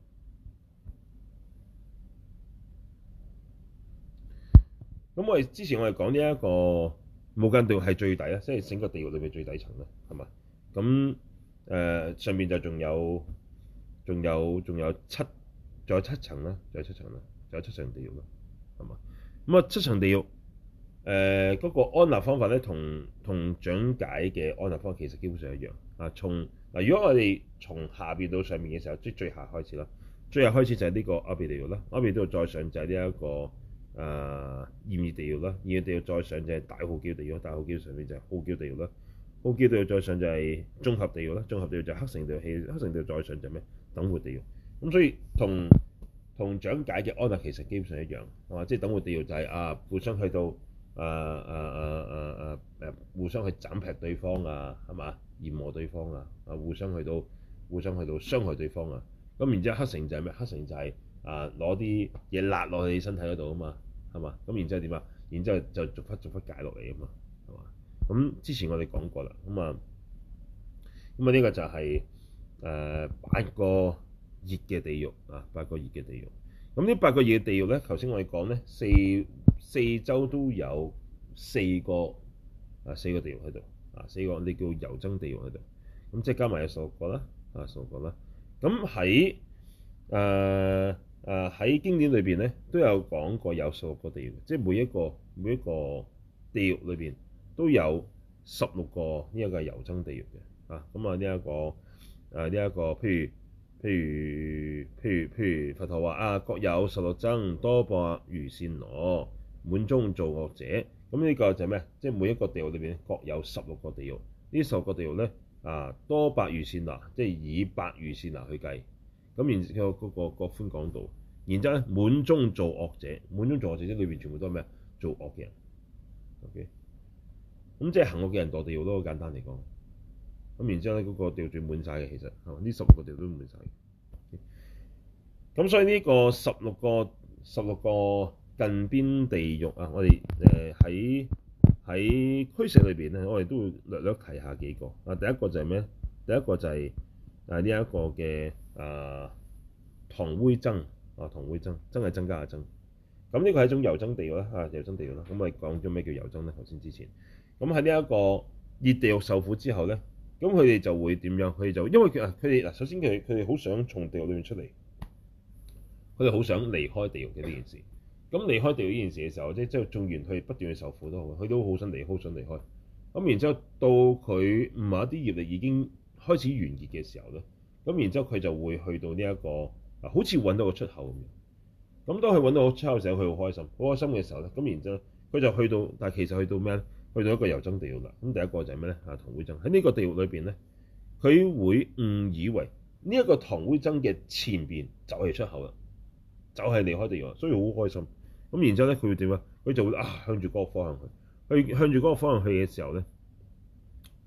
S1: 咁我哋之前我哋講呢一個無間地獄係最底啦，即係整個地獄裏邊最底層啦，係嘛？咁誒、呃、上面就仲有仲有仲有七仲有七層啦，仲有七層啦，仲有七層地獄啦，係嘛？咁啊七層地獄誒嗰、呃那個安立方法咧，同同講解嘅安立方法其實基本上一樣啊。從嗱，如果我哋從下邊到上面嘅時候，即係最下開始啦，最下開始就係呢個阿鼻地獄啦，阿鼻地獄再上就係呢一個。誒炎熱地獄啦，炎熱地獄再上就係大號叫地獄，大號叫上面就係號叫地獄啦，號叫地獄再上就係綜合地獄啦，綜合地獄就係黑繩地獄，黑繩地獄再上就係咩？等活地獄。咁所以同同講解嘅安立其實基本上一樣，係嘛？即係等活地獄就係、是、啊互相去到誒誒誒誒誒誒互相去斬劈對方啊，係嘛？折磨對方啊，啊互相去到互相去到傷害對方啊。咁然之後黑繩就係咩？黑繩就係、是、啊攞啲嘢辣落你身體嗰度啊嘛。係嘛？咁然之後點啊？然之後就逐忽逐忽解落嚟啊嘛，係嘛？咁之前我哋講過啦，咁啊，咁啊呢個就係、是、誒、呃、八個熱嘅地獄啊，八個熱嘅地獄。咁呢八個熱嘅地獄咧，頭先我哋講咧，四四周都有四個啊四個地獄喺度啊，四個你叫油憎地獄喺度。咁即係加埋有十六個啦，啊十六個啦。咁喺誒。誒喺、呃、經典裏邊咧都有講過有十六個地獄，即係每一個每一個地獄裏邊都有十六個呢一個油憎地獄嘅啊。咁啊呢一個誒呢一個譬如譬如譬如譬如佛陀話啊，各有十六僧，多百餘善羅，滿中造惡者。咁呢個就係咩？即係每一個地獄裏邊各有十六個地獄。呢十六個地獄咧啊，多百餘善羅，即係以百餘善羅去計。咁然之後嗰個個寬廣度，然之後咧滿中造惡者，滿中造惡者即係裏邊全部都係咩？做惡嘅人。OK，咁即係行惡嘅人墮地獄都好簡單嚟講。咁然之後咧嗰個地獄最滿晒嘅，其實係嘛？呢十六個地獄都滿晒。咁、okay? 所以呢個十六個十六個近邊地獄啊，我哋誒喺喺俱舍裏邊咧，我哋都會略略提下幾個啊。第一個就係咩？第一個就係誒呢一個嘅。啊，唐灰僧啊，唐灰僧，僧係增加嘅僧。咁呢個係一種油憎地獄啦，啊，油憎地獄啦。咁我哋講咗咩叫油憎咧？頭先之前，咁喺呢一個熱地獄受苦之後咧，咁佢哋就會點樣？佢哋就因為佢啊，佢哋嗱，首先佢佢哋好想從地獄裏面出嚟，佢哋好想離開地獄嘅呢件事。咁離開地獄呢件事嘅時候，即係即係縱然佢不斷去受苦都好，佢都好想離，好想離開。咁然之後到佢唔係一啲業力已經開始完結嘅時候咧。咁然之後佢就會去到呢、這、一個啊，好似揾到個出口咁樣。咁當佢揾到個出口嘅時候，佢好開心，好開心嘅時候咧，咁然之後佢就去到，但係其實去到咩咧？去到一個油憎地獄啦。咁第一個就係咩咧？啊，唐灰僧喺呢個地獄裏邊咧，佢會誤以為呢一個唐灰僧嘅前邊就係出口啦，就係、是、離開地獄，所以好開心。咁然之後咧，佢會點啊？佢就會啊向住嗰個方向去，去向住嗰個方向去嘅時候咧，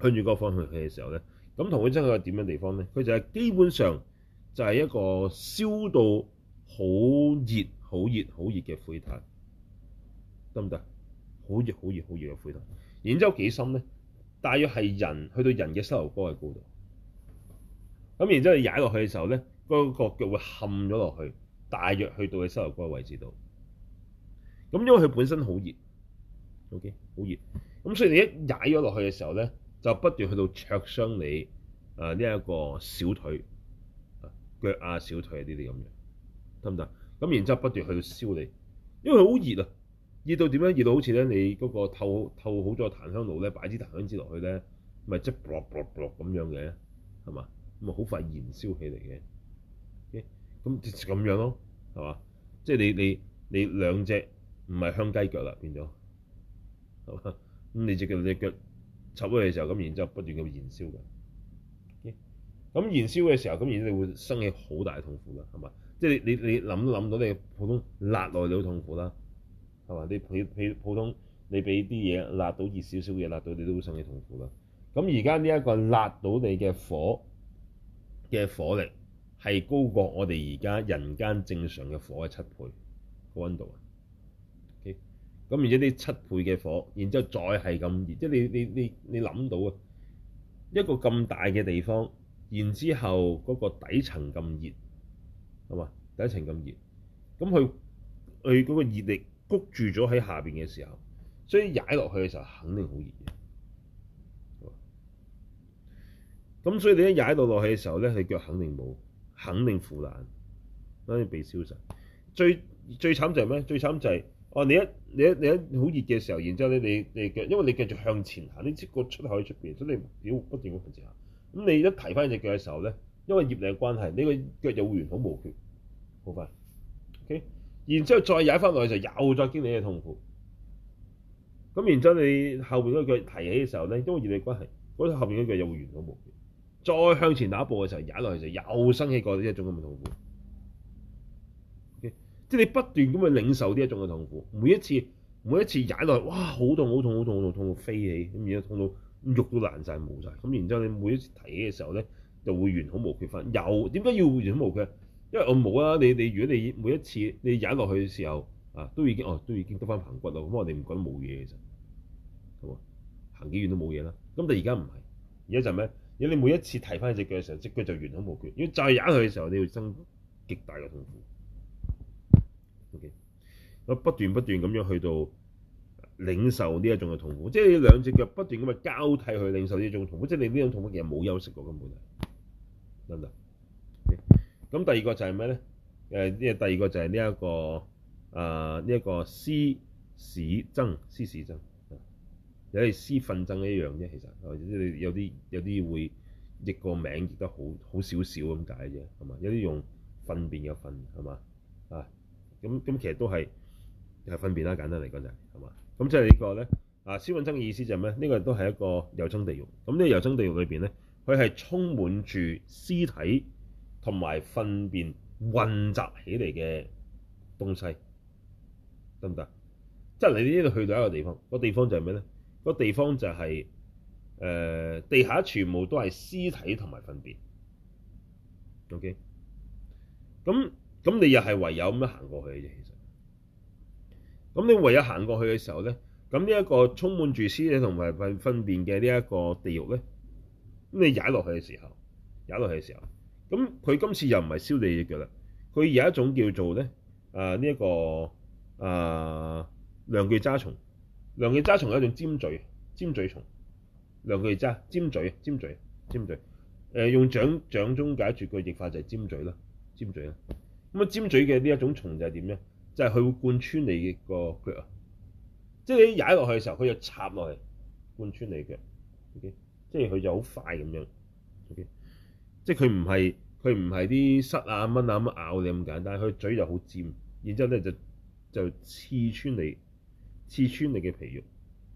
S1: 向住嗰個方向去嘅時候咧，咁同佢真係點樣地方咧？佢就係基本上就係一個燒到好熱、好熱、好熱嘅灰炭，得唔得？好熱、好熱、好熱嘅灰炭。然之後幾深咧？大約係人去到人嘅膝頭哥嘅高度。咁然之後你踩落去嘅時候咧，嗰、嗰個腳會冚咗落去，大約去到你膝頭哥嘅位置度。咁因為佢本身好熱 ，OK， 好熱。咁所以你一踩咗落去嘅時候咧，就不斷去到灼傷你啊呢一個小腿、啊腳啊小腿啊呢啲咁樣，得唔得？咁然之後不斷去到燒你，因為佢好熱啊，熱到點樣？熱到好似咧你嗰個透透好咗檀香爐咧，擺支檀香枝落去咧，咪即係啵啵啵咁樣嘅，係嘛？咁啊好快燃燒起嚟嘅，咁就咁樣咯，係嘛？即係你你你兩隻唔係香雞腳啦，變咗係嘛？咁你隻腳你腳插咗嘅時候，咁然之後不斷咁燃燒嘅，咁燃燒嘅時候，咁然之後你會生起好大嘅痛苦啦，係嘛？即係你你你諗都諗到，你普通辣落去你好痛苦啦，係嘛？你譬譬普通你俾啲嘢辣到熱少少嘅嘢辣到你都會生起痛苦啦。咁而家呢一個辣到你嘅火嘅火力係高過我哋而家人間正常嘅火嘅七倍個溫度啊。OK，咁而且啲七倍嘅火，然之後再係咁熱，即係你你你你諗到啊，一個咁大嘅地方，然之後嗰個底層咁熱，係嘛？底層咁熱，咁佢佢嗰個熱力谷住咗喺下邊嘅時候，所以踩落去嘅時候肯定好熱嘅。咁所以你一踩到落去嘅時候咧，佢腳肯定冇，肯定腐爛，肯定被燒實。最最慘就係咩？最慘就係、是、哦，你一你一你一好熱嘅時候，然之後咧你你腳，因為你繼續向前行，你知個出口喺出邊，所以你要不斷咁向前行。咁你一提翻隻腳嘅時候咧，因為業力嘅關係，你個腳又會完好無缺，好快。OK，然之後再踩翻落去就又再經歷嘅痛苦。咁然之後你後邊嗰腳提起嘅時候咧，因為業力關係，嗰、那個、後邊嗰腳又會完好無缺。再向前打一步嘅時候，踩落去就又生起過呢一種咁嘅痛苦。Okay? 即係你不斷咁去領受呢一種嘅痛苦，每一次每一次踩落去，哇，好痛好痛好痛好痛，痛到飛起，咁然之後痛到肉都爛晒冇晒。咁然之後你每一次提起嘅時候咧，就會完好無缺翻。又點解要完好無缺？因為我冇啊，你你如果你每一次你踩落去嘅時候啊，都已經哦都已經得翻棚骨咯，咁我哋唔覺得冇嘢其實，係嘛？行幾遠都冇嘢啦。咁但係而家唔係，而家就咩？如果你每一次提翻隻腳嘅時候，隻腳就完好無缺。如果再踩佢嘅時候，你要生極大嘅痛苦。O.K. 我不斷不斷咁樣去到領受呢一種嘅痛苦，即係你兩隻腳不斷咁去交替去領受呢一種痛苦，即係你呢種痛苦其實冇休息過根本係，得唔得？咁、okay. 第二個就係咩咧？誒，呢個第二個就係呢一個啊呢一個屍使僧，屍使僧。有啲屍糞僧一樣啫，其實有啲有啲會譯個名譯得好好少少咁解啫，係嘛？有啲用糞便嘅糞，係嘛？啊，咁咁其實都係係糞便啦，簡單嚟講就係係嘛？咁即係呢個咧啊，屍糞僧嘅意思就係咩？呢個都係一個有僧地獄。咁呢個有僧地獄裏邊咧，佢係充滿住屍體同埋糞便混雜起嚟嘅東西，得唔得？即係你呢度去到一個地方，個地方就係咩咧？個地方就係、是、誒、呃、地下全部都係屍體同埋糞便。OK，咁咁你又係唯有咁樣行過去嘅啫。其實，咁你唯有行過去嘅時候咧，咁呢一個充滿住屍體同埋糞糞便嘅呢一個地獄咧，咁你踩落去嘅時候，踩落去嘅時候，咁佢今次又唔係燒你隻腳啦，佢有一種叫做咧啊呢一、這個啊梁具渣蟲。梁具渣蟲係一種尖嘴尖嘴蟲，梁具渣尖嘴尖嘴尖嘴，誒、呃、用掌掌中解決個譯法就係尖嘴啦，尖嘴啦。咁啊尖嘴嘅呢一種蟲就係點咧？就係、是、佢會貫穿你個腳啊，即係你踩落去嘅時候，佢就插落去貫穿你腳。O.K.，即係佢就好快咁樣。O.K.，即係佢唔係佢唔係啲虱啊蚊啊咁咬你咁簡單，佢嘴就好尖，然之後咧就就刺穿你。刺穿你嘅皮肉，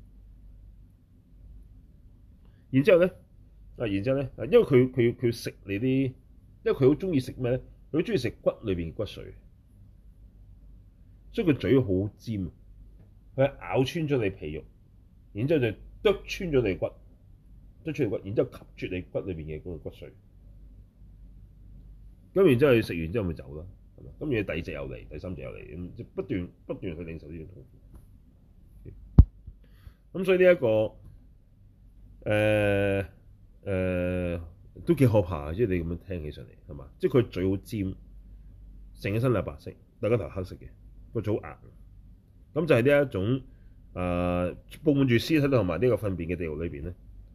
S1: 然之後咧，啊，然之後咧，啊，因為佢佢佢食你啲，因為佢好中意食咩咧？佢好中意食骨裏邊嘅骨髓，所以佢嘴好尖，佢咬穿咗你皮肉，然之後就剁穿咗你骨， 捽出條骨，然之後吸住你骨裏邊嘅嗰個骨髓。咁然之後你食完之後咪走啦，係嘛？咁然後第二隻又嚟，第三隻又嚟，咁即不斷不斷去領受呢種痛苦。咁所以呢、這、一個誒誒、呃呃、都幾可怕，即係你咁樣聽起上嚟係嘛？即係佢嘴好尖，成個身係白色，但係個頭黑色嘅，個嘴好硬。咁就係呢一種誒、呃、佈滿住屍體同埋呢個糞便嘅地獄裏邊咧。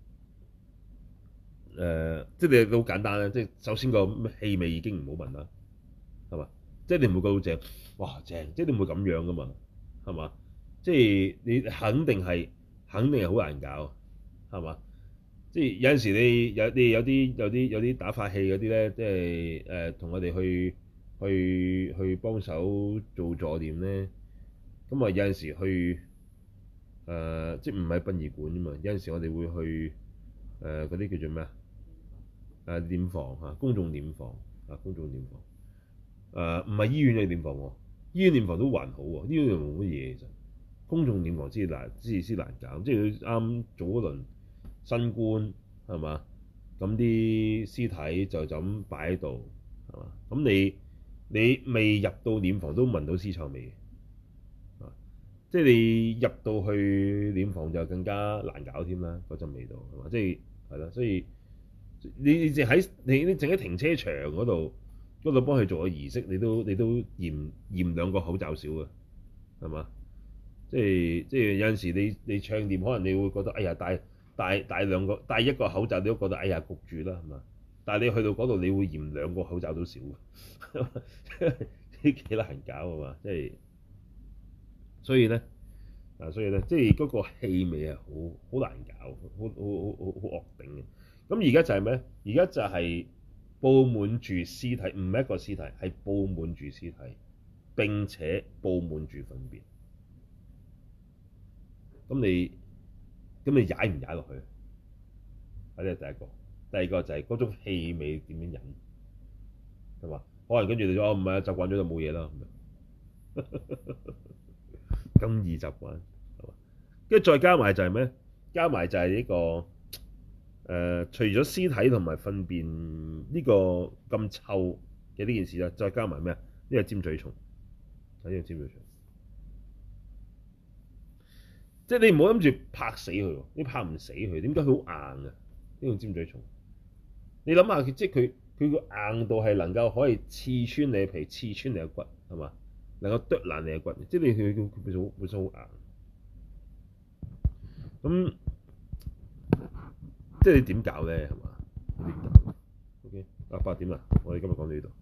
S1: 誒、呃，即係你好簡單啦，即係首先個氣味已經唔好聞啦，係嘛？即係你唔會覺到正，哇正！即係你唔會咁樣噶嘛，係嘛？即係你肯定係肯定係好難搞，係嘛？即係有陣時你有你有啲有啲有啲打法器嗰啲咧，即係誒同我哋去去去幫手做助念咧，咁啊有陣時去誒、呃、即係唔係殯儀館啫嘛？有陣時我哋會去誒嗰啲叫做咩啊？誒殮房嚇，公眾殮房啊，公眾殮房誒唔係醫院嘅殮房喎，醫院殮房都還好喎，醫院又冇乜嘢其實，公眾殮房先難，先先難搞，即係佢啱早嗰輪新冠係嘛，咁啲屍體就就咁擺喺度係嘛，咁你你未入到殮房都聞到屍臭味嘅，啊，即係你入到去殮房就更加難搞添啦，嗰陣味道係嘛，即係係啦，所以。你你淨喺你你淨喺停車場嗰度嗰度幫佢做個儀式，你都你都嫌嫌兩個口罩少嘅，係嘛？即係即係有陣時你你唱念，可能你會覺得哎呀戴戴戴兩個戴一個口罩，你都覺得哎呀焗住啦，係嘛？但係你去到嗰度，你會嫌兩個口罩都少嘅，呢幾難搞啊嘛！即係所以咧啊，所以咧即係嗰個氣味係好好難搞，好好好好好惡頂嘅。咁而家就係咩？而家就係佈滿住屍體，唔係一個屍體，係佈滿住屍體，並且佈滿住糞便。咁你咁你踩唔踩落去？啊，呢係第一個。第二個就係嗰種氣味點樣忍，係嘛？可能跟住你話哦，唔係啊，習慣咗就冇嘢啦，咁樣咁易習慣，係嘛？跟住再加埋就係咩？加埋就係呢個。誒、呃，除咗屍體同埋糞便呢個咁臭嘅呢件事啦，再加埋咩啊？呢個尖嘴蟲，呢個尖嘴蟲，即係你唔好諗住拍死佢，你拍唔死佢，點解佢好硬啊？呢個尖嘴蟲，你諗下，即係佢佢個硬度係能夠可以刺穿你嘅皮、刺穿你嘅骨，係嘛？能夠剁爛你嘅骨，即係你佢佢佢本身本身好硬，咁。即係你點搞咧，係嘛？點搞？OK，啊八點啦，我哋今日講到呢度。